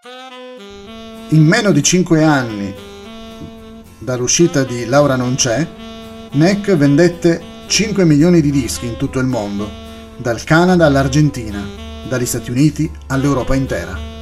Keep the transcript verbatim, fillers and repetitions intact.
In meno di cinque anni dall'uscita di Laura non c'è, Nek vendette cinque milioni di dischi in tutto il mondo, dal Canada all'Argentina, dagli Stati Uniti all'Europa intera.